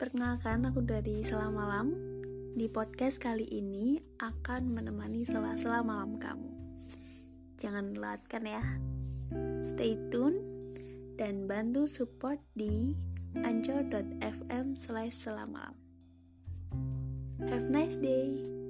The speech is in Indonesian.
Perkenalkan, aku dari Sela Malam. Di podcast kali ini akan menemani sela-sela malam kamu. Jangan lewatkan ya. Stay tune dan bantu support di anchor.fm/selamalam. Have a nice day.